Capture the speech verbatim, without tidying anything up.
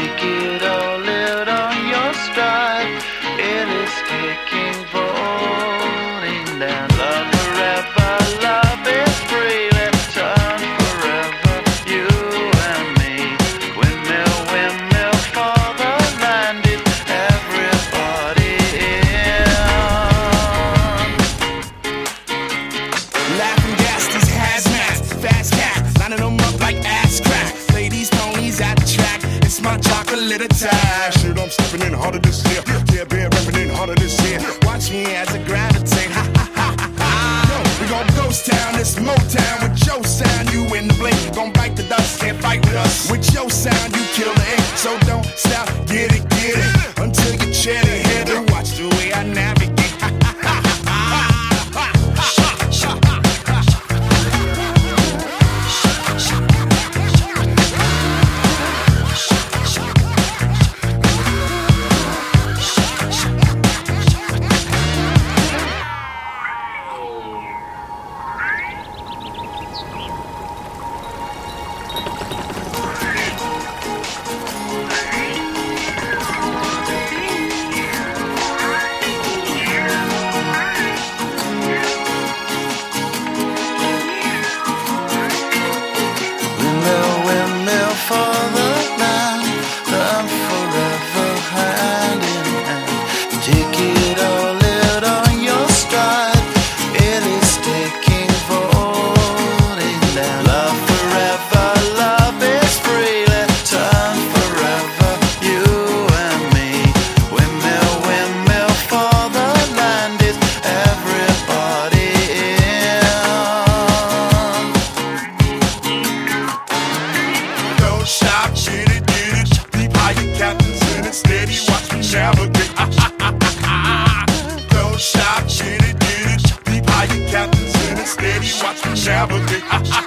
Take it all out on your stride. It is taking, falling down. Love forever, love is free. Let's turn forever, you and me. Windmill, windmill for the land is everybody in. Laughing gas, these hazmats, fast cat, lining them up like ass crack. Play these ponies at the track. It's my chocolate attack. Shit, I'm stepping in harder this year. Yeah, bear repping in harder this year. Watch me as I gravitate. Ha ha ha ha ha. Yo, we gon' ghost town, this Motown with your sound. You in the blink, gon' bite the dust, can't fight with us. With your sound, you kill the ink. So don't stop, get it, get it, until you chat ahead and watch the way I navigate. Ha ha ha ha ha. Windmill, windmill for the land, them forever hand in hand. Take it all out on your stride. It is taking, falling down. Love forever, love is free. Let's turn forever, you and me. Windmill, windmill for the land is everybody in. Don't stop, get it, get it. Deep higher captains in it, steady, watch me navigate. Don't stop, get it, get it. Deep higher captains in it, steady, watch me navigate.